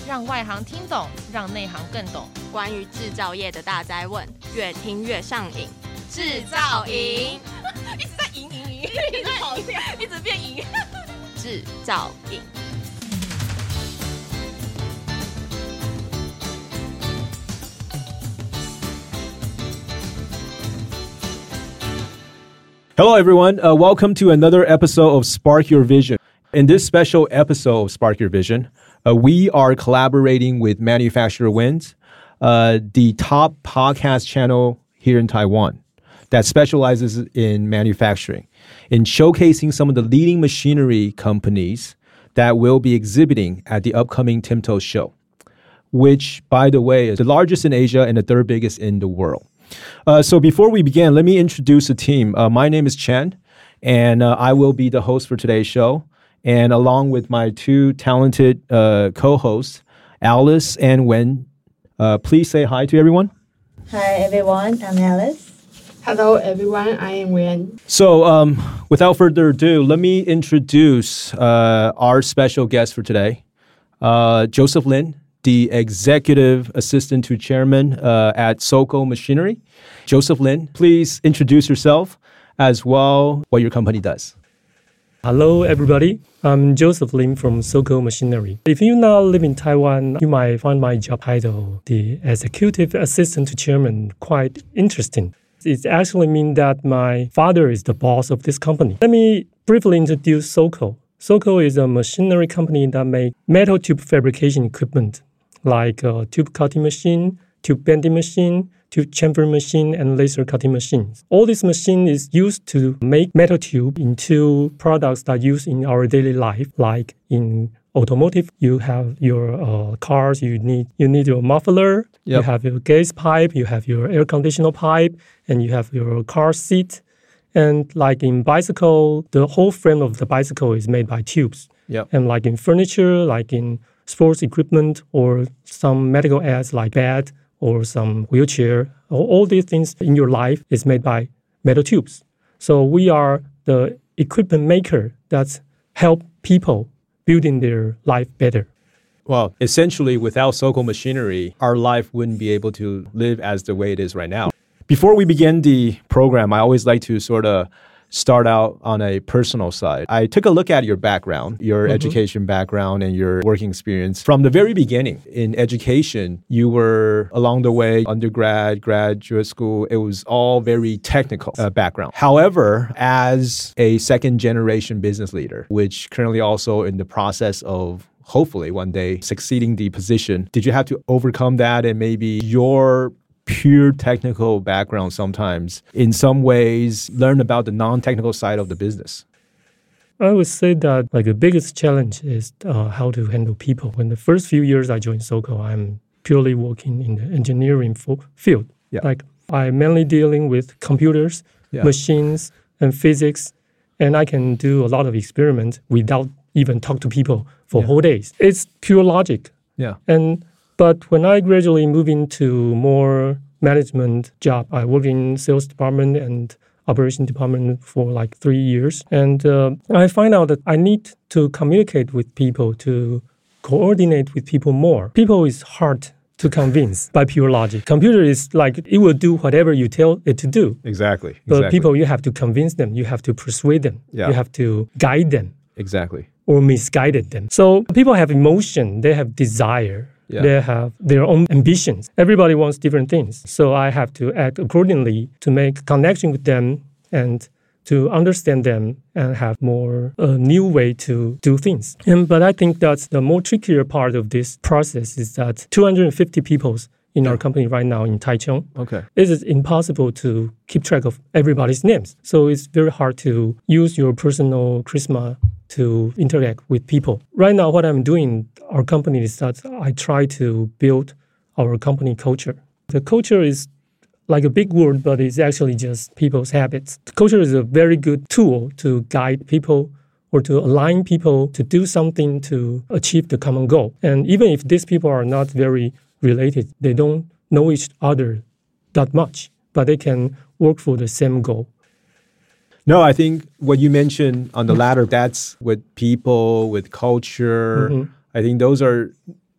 讓外行聽懂，讓內行更懂。 關於製造業的大哉問，越聽越上癮。製造營一直在贏，一直跑掉，一直變贏。 製造營。 Hello, everyone. Welcome to another episode of Spark Your Vision. In this special episode of Spark Your Vision, we are collaborating with Manufacturer Wins, the top podcast channel here in Taiwan that specializes in manufacturing, in showcasing some of the leading machinery companies that will be exhibiting at the upcoming TIMTO show, which, by the way, is the largest in Asia and the third biggest in the world. So before we begin, let me introduce the team. My name is Chen, and I will be the host for today's show. And along with my two talented co-hosts, Alice and Wen, please say hi to everyone. Hi, everyone. I'm Alice. Hello, everyone. I am Wen. So without further ado, let me introduce our special guest for today, Joseph Lin, the Executive Assistant to Chairman at SOCO Machinery. Joseph Lin, please introduce yourself as well, what your company does. Hello, everybody. I'm Joseph Lin from SOCO Machinery. If you now live in Taiwan, you might find my job title, the Executive Assistant to Chairman, quite interesting. It actually means that my father is the boss of this company. Let me briefly introduce SOCO. SOCO is a machinery company that makes metal tube fabrication equipment, like a tube cutting machine, tube bending machine, tube chamfer machine, and laser cutting machines. All this machine is used to make metal tube into products that are used in our daily life, like in automotive. You have your cars, you need your muffler, you have your gas pipe, you have your air conditioner pipe, and you have your car seat. And like in bicycle, the whole frame of the bicycle is made by tubes. And like in furniture, like in sports equipment, or some medical aids like bed or some wheelchair, all these things in your life is made by metal tubes. So we are the equipment maker that help people building their life better. Well, essentially, without SOCO Machinery, our life wouldn't be able to live as the way it is right now. Before we begin the program, I always like to sort of start out on a personal side. I took a look at your background, your education background, and your working experience. From the very beginning in education, you were along the way, undergrad, graduate school, it was all very technical background. However, as a second generation business leader, which currently also in the process of hopefully one day succeeding the position, did you have to overcome that and maybe your pure technical background sometimes, in some ways, learn about the non-technical side of the business? I would say that the biggest challenge is how to handle people. In the first few years I joined SOCO, I'm purely working in the engineering field. I'm mainly dealing with computers, machines, and physics, and I can do a lot of experiments without even talk to people for whole days. It's pure logic. But when I gradually move into more management job, I work in sales department and operation department for 3 years. And I find out that I need to communicate with people, to coordinate with people more. People is hard to convince by pure logic. Computer is it will do whatever you tell it to do. Exactly. But people, you have to convince them. You have to persuade them. You have to guide them. Exactly. Or misguided them. So people have emotion. They have desire. They have their own ambitions. Everybody wants different things. So I have to act accordingly to make connection with them and to understand them and have more new way to do things. But I think that's the more trickier part of this process is that 250 people in our company right now in Taichung. It is impossible to keep track of everybody's names. So it's very hard to use your personal charisma to interact with people. Right now, what I'm doing, our company, is that I try to build our company culture. The culture is like a big word, but it's actually just people's habits. The culture is a very good tool to guide people or to align people to do something to achieve the common goal. And even if these people are not very related, they don't know each other that much, but they can work for the same goal. No, I think what you mentioned on the latter, that's with people, with culture. I think those are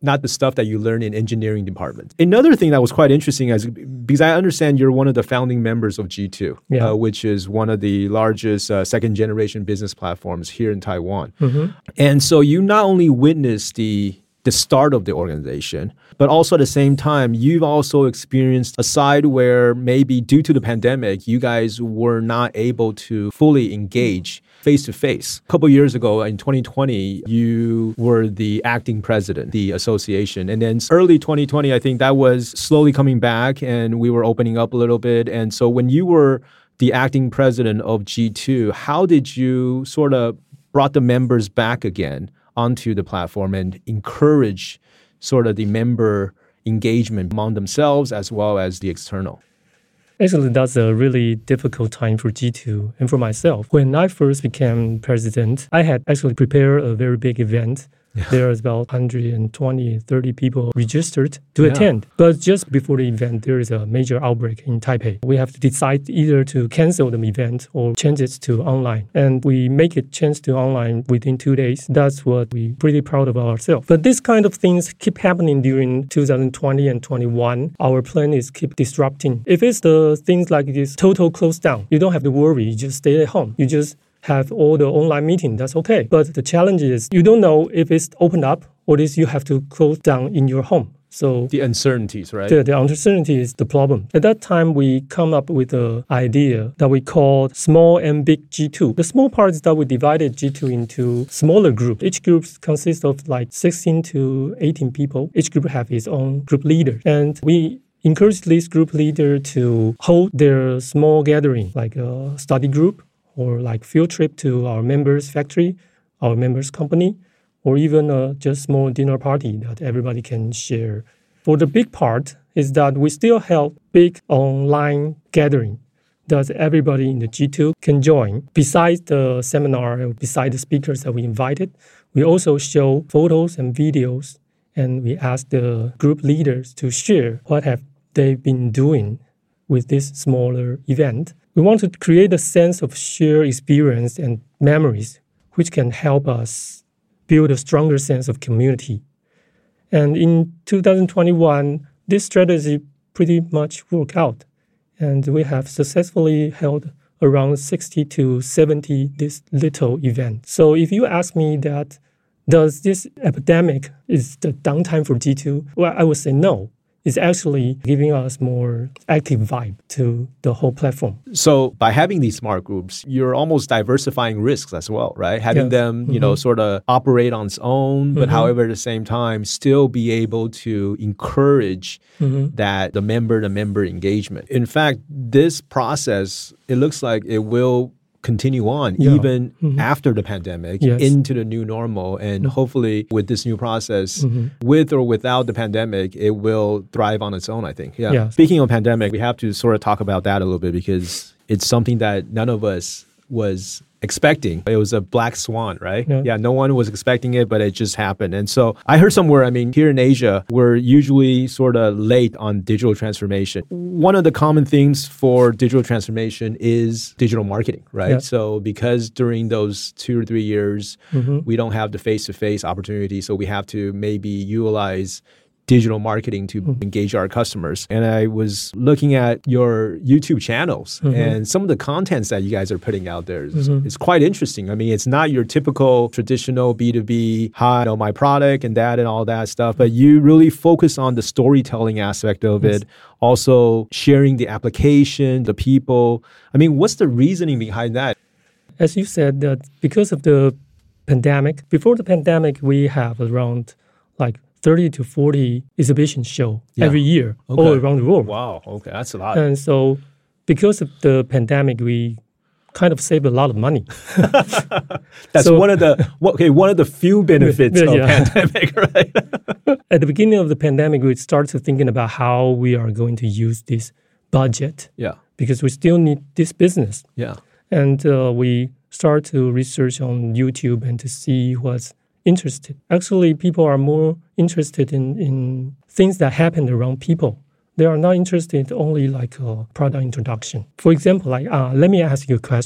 not the stuff that you learn in engineering departments. Another thing that was quite interesting is because I understand you're one of the founding members of G2, which is one of the largest second generation business platforms here in Taiwan. And so you not only witnessed the start of the organization, but also at the same time, you've also experienced a side where maybe due to the pandemic, you guys were not able to fully engage face-to-face. A couple of years ago, in 2020, you were the acting president, the association. And then early 2020, I think that was slowly coming back and we were opening up a little bit. And so when you were the acting president of G2, how did you sort of brought the members back again onto the platform and encourage sort of the member engagement among themselves as well as the external? Actually, that's a really difficult time for G2 and for myself. When I first became president, I had actually prepared a very big event. There was about 120, 30 people registered to attend. But just before the event, there is a major outbreak in Taipei. We have to decide either to cancel the event or change it to online. And we make it change to online within 2 days. That's what we're pretty proud of ourselves. But this kind of things keep happening during 2020 and 21. Our plan is keep disrupting. If it's the things like this total close down, you don't have to worry. You just stay at home. You just have all the online meeting, that's okay. But the challenge is you don't know if it's opened up or is you have to close down in your home. So the uncertainties, right? The uncertainty is the problem. At that time, we come up with an idea that we called small and big G2. The small part is that we divided G2 into smaller groups. Each group consists of like 16 to 18 people. Each group have its own group leader. And we encourage this group leader to hold their small gathering, like a study group, or like field trip to our members' factory, our members' company, or even just small dinner party that everybody can share. For the big part is that we still have big online gathering that everybody in the G2 can join. Besides the seminar, besides the speakers that we invited, we also show photos and videos, and we ask the group leaders to share what have they been doing with this smaller event. We want to create a sense of shared experience and memories, which can help us build a stronger sense of community. And in 2021, this strategy pretty much worked out. And we have successfully held around 60 to 70 this little event. So if you ask me that, does this epidemic is the downtime for G2? Well, I would say no. It's actually giving us more active vibe to the whole platform. So by having these smart groups, you're almost diversifying risks as well, right? Having them, you know, sort of operate on its own, but however, at the same time, still be able to encourage that the member engagement. In fact, this process, it looks like it will continue on even after the pandemic into the new normal. And hopefully with this new process, with or without the pandemic, it will thrive on its own, I think. Speaking of pandemic, we have to sort of talk about that a little bit because it's something that none of us was expecting. It was a black swan, right? No one was expecting it, but it just happened. And so I heard somewhere, I mean, here in Asia, we're usually sort of late on digital transformation. One of the common things for digital transformation is digital marketing, right? So because during those 2 or 3 years, we don't have the face-to-face opportunity, so we have to maybe utilize digital marketing to engage our customers. And I was looking at your YouTube channels and some of the contents that you guys are putting out there is quite interesting. I mean, it's not your typical traditional B2B, hi, you know, my product and that and all that stuff, but you really focus on the storytelling aspect of it, also sharing the application, the people. I mean, what's the reasoning behind that? As you said, that because of the pandemic, before the pandemic, we have around like 30 to 40 exhibition show every year all around the world. Wow, okay, that's a lot. And so because of the pandemic, we kind of saved a lot of money. That's one of the few benefits of pandemic, right? At the beginning of the pandemic, we started thinking about how we are going to use this budget. Because we still need this business. And we start to research on YouTube and to see what's interested. Actually, people are more interested in things that happen around people. They are not interested only like a product introduction. For example, like let me ask you a question.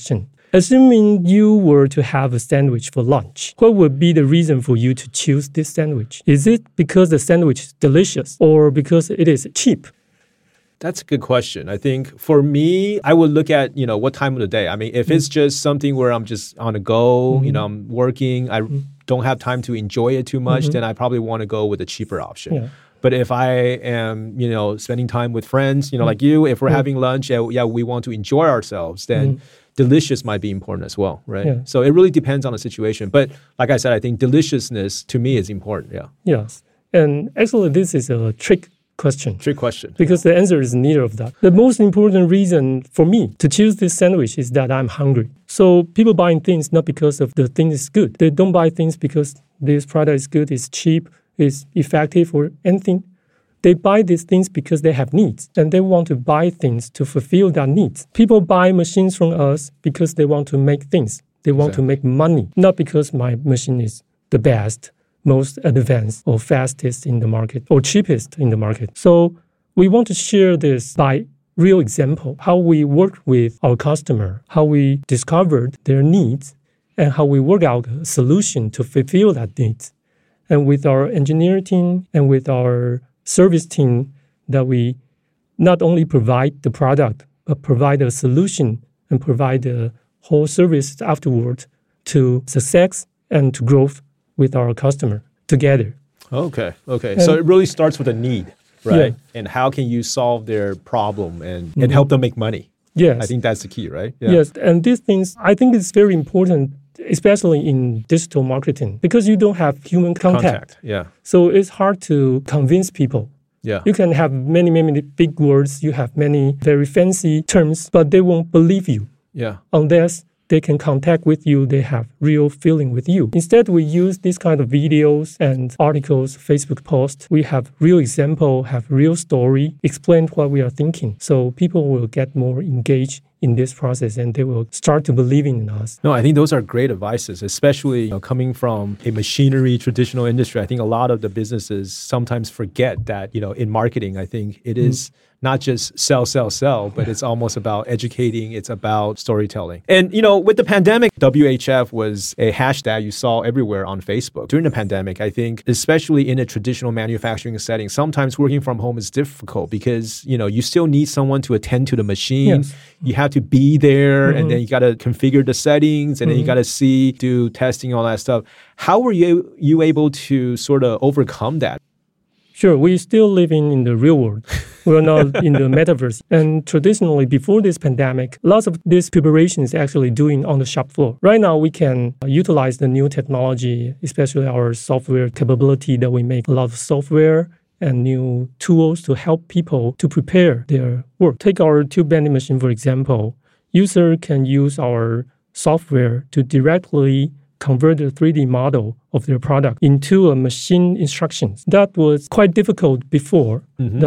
Assuming you were to have a sandwich for lunch, what would be the reason for you to choose this sandwich? Is it because the sandwich is delicious or because it is cheap? That's a good question. I think for me, I would look at, what time of the day. I mean, if it's just something where I'm just on the go, I'm working, I don't have time to enjoy it too much, then I probably want to go with a cheaper option. Yeah. But if I am, spending time with friends, like you, if we're having lunch, we want to enjoy ourselves, then delicious might be important as well, right? Yeah. So it really depends on the situation. But like I said, I think deliciousness to me is important, yeah. Yes. And actually, this is a trick question. Trick question. Because the answer is neither of that. The most important reason for me to choose this sandwich is that I'm hungry. So people buying things not because of the thing is good. They don't buy things because this product is good, it's cheap, it's effective or anything. They buy these things because they have needs and they want to buy things to fulfill their needs. People buy machines from us because they want to make things. They want to make money, not because my machine is the best, most advanced or fastest in the market or cheapest in the market. So we want to share this by real example, how we work with our customer, how we discovered their needs and how we work out a solution to fulfill that needs. And with our engineering team and with our service team that we not only provide the product, but provide a solution and provide the whole service afterward to success and to growth with our customer together. Okay. So it really starts with a need, right? Yeah. And how can you solve their problem and help them make money? Yes. I think that's the key, right? Yeah. Yes. And these things, I think it's very important, especially in digital marketing, because you don't have human contact. Yeah. So it's hard to convince people. Yeah. You can have many, many big words. You have many very fancy terms, but they won't believe you. Yeah. Unless they can contact with you, they have real feeling with you. Instead, we use these kind of videos and articles, Facebook posts. We have real example, have real story, explain what we are thinking. So people will get more engaged in this process and they will start to believe in us. No, I think those are great advices, especially coming from a machinery traditional industry. I think a lot of the businesses sometimes forget that, in marketing, I think it is not just sell, but it's almost about educating. It's about storytelling. And, with the pandemic, WHF was a hashtag you saw everywhere on Facebook. During the pandemic, I think, especially in a traditional manufacturing setting, sometimes working from home is difficult because, you still need someone to attend to the machine. Yes. You have to be there and then you got to configure the settings and then you got to do testing, all that stuff. How were you able to sort of overcome that? Sure, we're still living in the real world. We're not in the metaverse. And traditionally, before this pandemic, lots of this preparation is actually doing on the shop floor. Right now, we can utilize the new technology, especially our software capability that we make a lot of software and new tools to help people to prepare their work. Take our tube bending machine, for example. User can use our software to directly convert the 3D model of their product into a machine instructions. That was quite difficult before.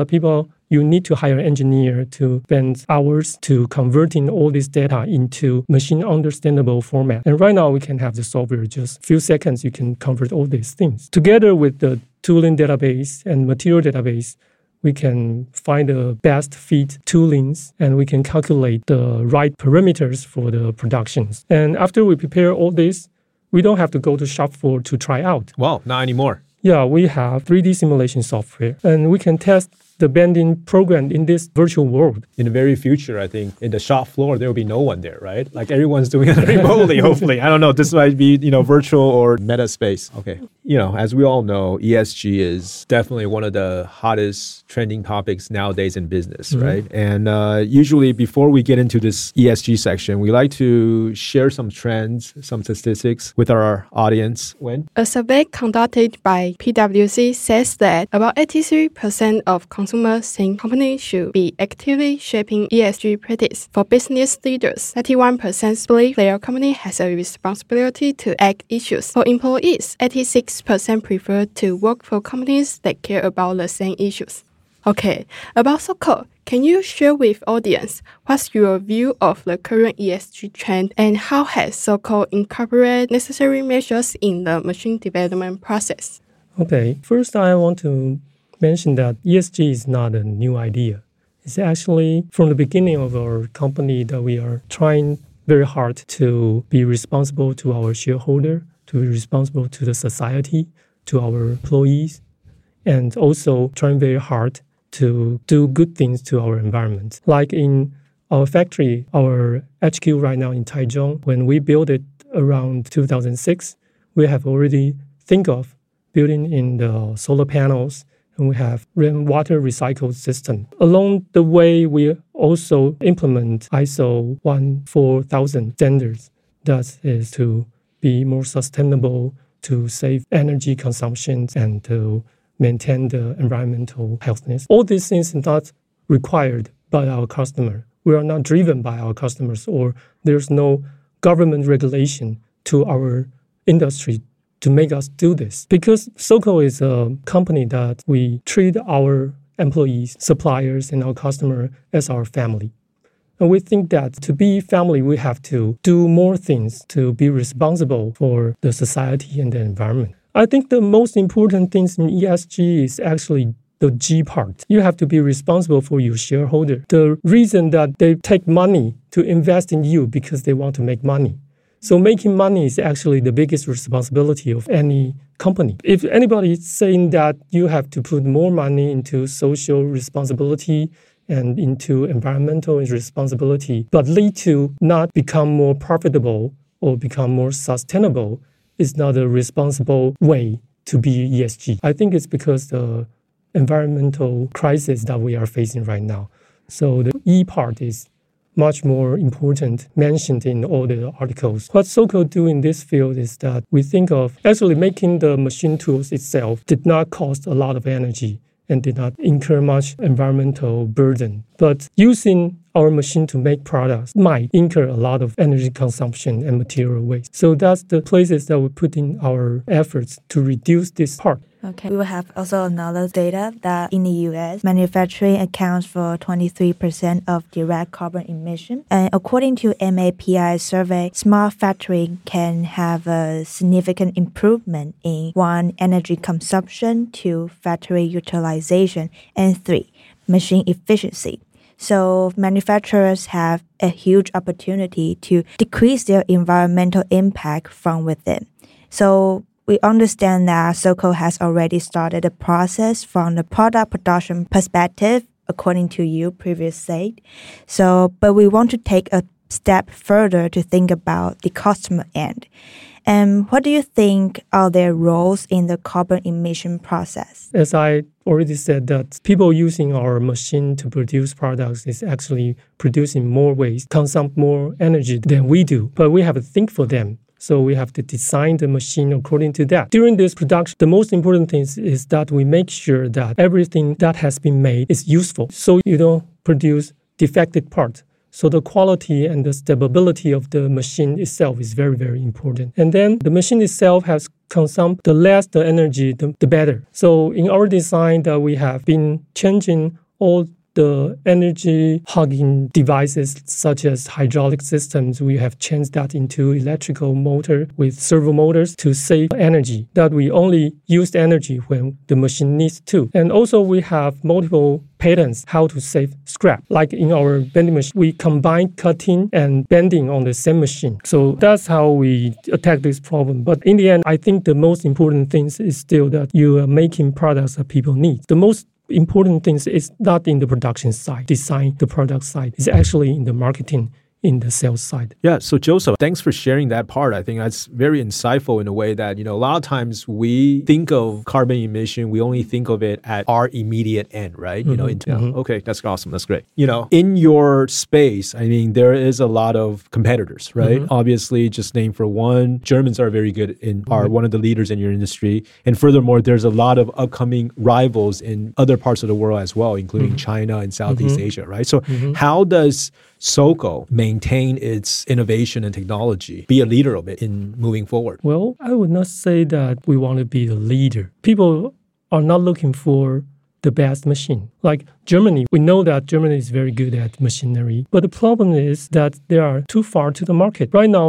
You need to hire an engineer to spend hours to converting all this data into machine understandable format. And right now we can have the software, just a few seconds, you can convert all these things. Together with the tooling database and material database, we can find the best fit toolings and we can calculate the right parameters for the productions. And after we prepare all this, we don't have to go to shop floor to try out. Wow, not anymore. Yeah, we have 3D simulation software and we can test the bending program in this virtual world. In the very future, I think in the shop floor, there will be no one there, right? Like everyone's doing it remotely, hopefully. I don't know. This might be, virtual or meta space. Okay. As we all know, ESG is definitely one of the hottest trending topics nowadays in business, right? And usually before we get into this ESG section, we like to share some trends, some statistics with our audience. When? A survey conducted by PwC says that about 83% of consumers think companies should be actively shaping ESG practice. For business leaders, 91% believe their company has a responsibility to act issues. For employees, 86% prefer to work for companies that care about the same issues. Okay, about SOCO, can you share with audience what's your view of the current ESG trend and how has SOCO incorporated necessary measures in the machine development process? Okay, first I want to mention that ESG is not a new idea. It's actually from the beginning of our company that we are trying very hard to be responsible to our shareholder, to be responsible to the society, to our employees, and also trying very hard to do good things to our environment. Like in our factory, our HQ right now in Taichung, when we built it around 2006, we have already think of building in the solar panels, and we have rainwater recycle system. Along the way, we also implement ISO 14000 standards. That is to be more sustainable, to save energy consumption, and to maintain the environmental healthiness. All these things are not required by our customer. We are not driven by our customers, or there's no government regulation to our industry to make us do this. Because SOCO is a company that we treat our employees, suppliers, and our customer as our family. And we think that to be family, we have to do more things to be responsible for the society and the environment. I think the most important things in ESG is actually the G part. You have to be responsible for your shareholder. The reason that they take money to invest in you because they want to make money. So making money is actually the biggest responsibility of any company. If anybody is saying that you have to put more money into social responsibility and into environmental responsibility, but lead to not become more profitable or become more sustainable, is not a responsible way to be ESG. I think it's because the environmental crisis that we are facing right now. So the E part is much more important, mentioned in all the articles. What SOCO do in this field is that we think of actually making the machine tools itself did not cost a lot of energy and did not incur much environmental burden. But using our machine to make products might incur a lot of energy consumption and material waste. So that's the places that we put in our efforts to reduce this part. Okay. We will have also another data that in the US, manufacturing accounts for 23% of direct carbon emission. And according to MAPI survey, smart factory can have a significant improvement in 1, energy consumption, 2, factory utilization, and 3, machine efficiency. So manufacturers have a huge opportunity to decrease their environmental impact from within. So we understand that SOCO has already started the process from the product production perspective, according to you previously said. But we want to take a step further to think about the customer end. And what do you think are their roles in the carbon emission process? As I already said, that people using our machine to produce products is actually producing more waste, consume more energy than we do. But we have to think for them. So we have to design the machine according to that. During this production, the most important thing is that we make sure that everything that has been made is useful. So you don't produce defective parts. So the quality and the stability of the machine itself is very, very important. And then the machine itself has consumed the less the energy, the better. So in our design that we have been changing all the energy hogging devices such as hydraulic systems, we have changed that into electrical motor with servo motors to save energy, that we only use energy when the machine needs to. And also we have multiple patents how to save scrap. Like in our bending machine, we combine cutting and bending on the same machine. So that's how we attack this problem. But in the end, I think the most important thing is still that you are making products that people need. The most important things is not in the production side, design the product side. It's actually in the marketing, in the sales side. Yeah, so Joseph, thanks for sharing that part. I think that's very insightful in a way that, a lot of times we think of carbon emission, we only think of it at our immediate end, right? Okay, that's awesome. That's great. In your space, I mean, there is a lot of competitors, right? Obviously, just name for one, Germans are very good are one of the leaders in your industry. And furthermore, there's a lot of upcoming rivals in other parts of the world as well, including China and Southeast Asia, right? So how does SOCO maintain its innovation and technology, be a leader of it in moving forward? Well, I would not say that we want to be the leader. People are not looking for the best machine. Like Germany, we know that Germany is very good at machinery, but the problem is that they are too far to the market. Right now,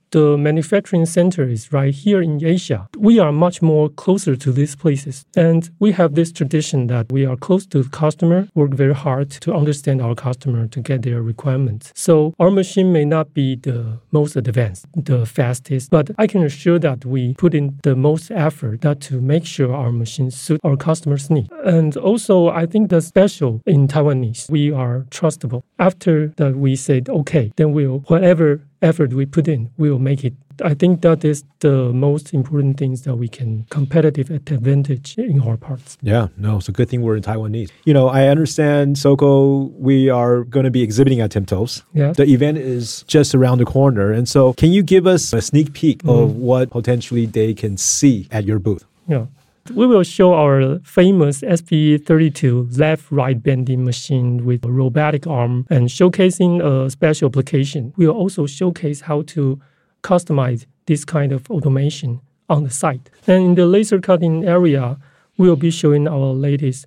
the manufacturing center is right here in Asia, we are much more closer to these places. And we have this tradition that we are close to the customer, work very hard to understand our customer to get their requirements. So our machine may not be the most advanced, the fastest, but I can assure that we put in the most effort that to make sure our machines suit our customers' needs. And also, I think the special in Taiwanese, we are trustable. After that, we said, okay, then whatever effort we put in, we will make it. I think that is the most important things that we can competitive advantage in our parts. Yeah, no, it's a good thing we're in Taiwanese. I understand, SOCO, we are going to be exhibiting at TIMTOS. Yeah. The event is just around the corner. And so can you give us a sneak peek of what potentially they can see at your booth? Yeah. We will show our famous SP32 left-right bending machine with a robotic arm and showcasing a special application. We will also showcase how to customize this kind of automation on the site. And in the laser cutting area, we will be showing our latest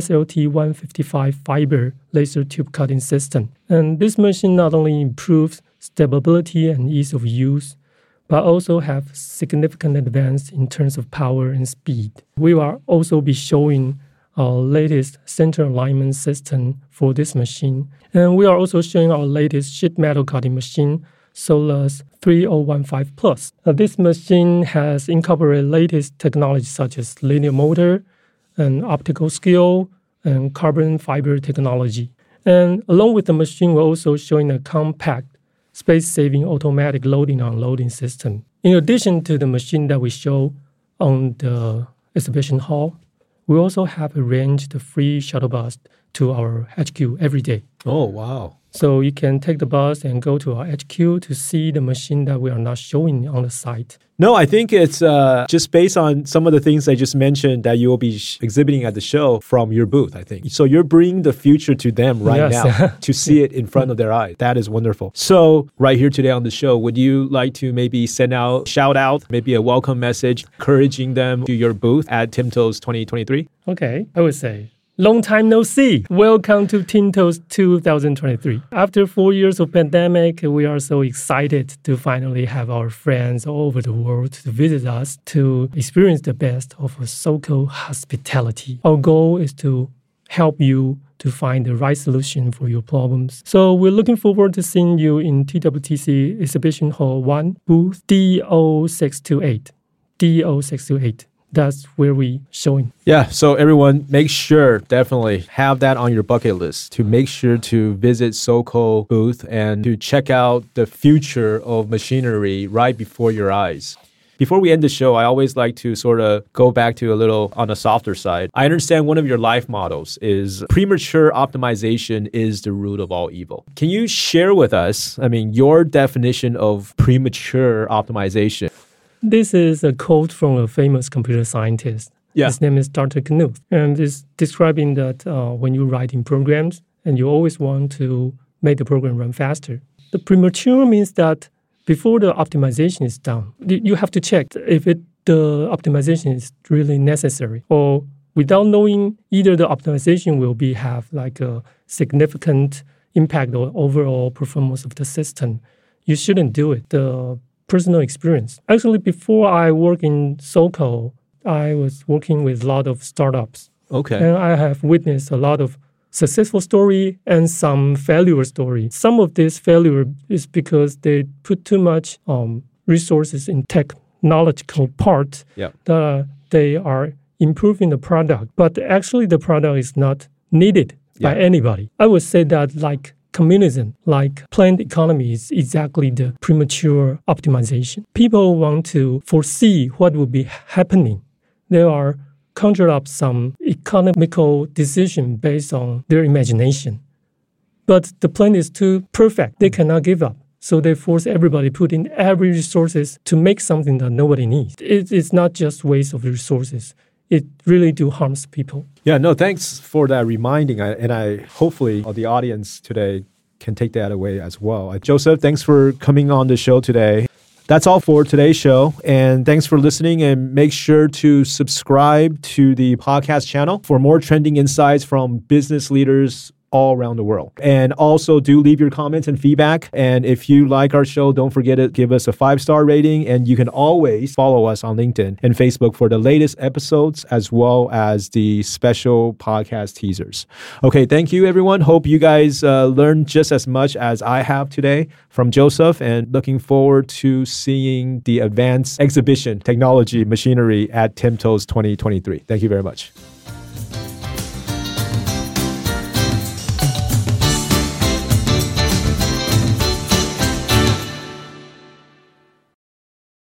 SLT155 fiber laser tube cutting system. And this machine not only improves stability and ease of use, but also have significant advance in terms of power and speed. We will also be showing our latest center alignment system for this machine. And we are also showing our latest sheet metal cutting machine, Solus 3015 Plus. This machine has incorporated latest technology such as linear motor and optical skill and carbon fiber technology. And along with the machine, we're also showing a compact space-saving automatic loading and unloading system. In addition to the machine that we show on the exhibition hall, we also have arranged the free shuttle bus to our HQ every day. Oh, wow. So you can take the bus and go to our HQ to see the machine that we are not showing on the site. No, I think it's just based on some of the things I just mentioned that you will be exhibiting at the show from your booth, I think. So you're bringing the future to them right now to see it in front of their eyes. That is wonderful. So right here today on the show, would you like to maybe send out, shout out, maybe a welcome message, encouraging them to your booth at TIMTOS 2023? Okay, I would say, long time no see. Welcome to TIMTOS 2023. After 4 years of pandemic, we are so excited to finally have our friends all over the world to visit us to experience the best of SOCO hospitality. Our goal is to help you to find the right solution for your problems. So we're looking forward to seeing you in TWTC Exhibition Hall 1, booth DO628. DO628. That's where we showing. Yeah, so everyone, make sure, definitely have that on your bucket list to make sure to visit SOCO booth and to check out the future of machinery right before your eyes. Before we end the show, I always like to sort of go back to a little on the softer side. I understand one of your life models is premature optimization is the root of all evil. Can you share with us, your definition of premature optimization? This is a quote from a famous computer scientist. Yeah. His name is Dr. Knuth. And it's describing that when you're writing programs and you always want to make the program run faster. The premature means that before the optimization is done, you have to check if the optimization is really necessary. Or without knowing either the optimization will have like a significant impact on overall performance of the system, you shouldn't do it. The personal experience. Actually, before I work in SOCO, I was working with a lot of startups. Okay. And I have witnessed a lot of successful story and some failure story. Some of this failure is because they put too much resources in technological part that they are improving the product. But actually, the product is not needed by anybody. I would say that like communism, like planned economy, is exactly the premature optimization. People want to foresee what will be happening. They are conjure up some economical decision based on their imagination. But the plan is too perfect. They cannot give up. So they force everybody put in every resources to make something that nobody needs. It's not just waste of resources. It really do harms people. Yeah, no, thanks for that reminding. And I hopefully the audience today can take that away as well. Joseph, thanks for coming on the show today. That's all for today's show. And thanks for listening. And make sure to subscribe to the podcast channel for more trending insights from business leaders all around the world. And also do leave your comments and feedback. And if you like our show, don't forget to give us a 5-star rating. And you can always follow us on LinkedIn and Facebook for the latest episodes as well as the special podcast teasers. Okay, thank you, everyone. Hope you guys learned just as much as I have today from Joseph, and looking forward to seeing the advanced exhibition technology machinery at TIMTOS 2023. Thank you very much.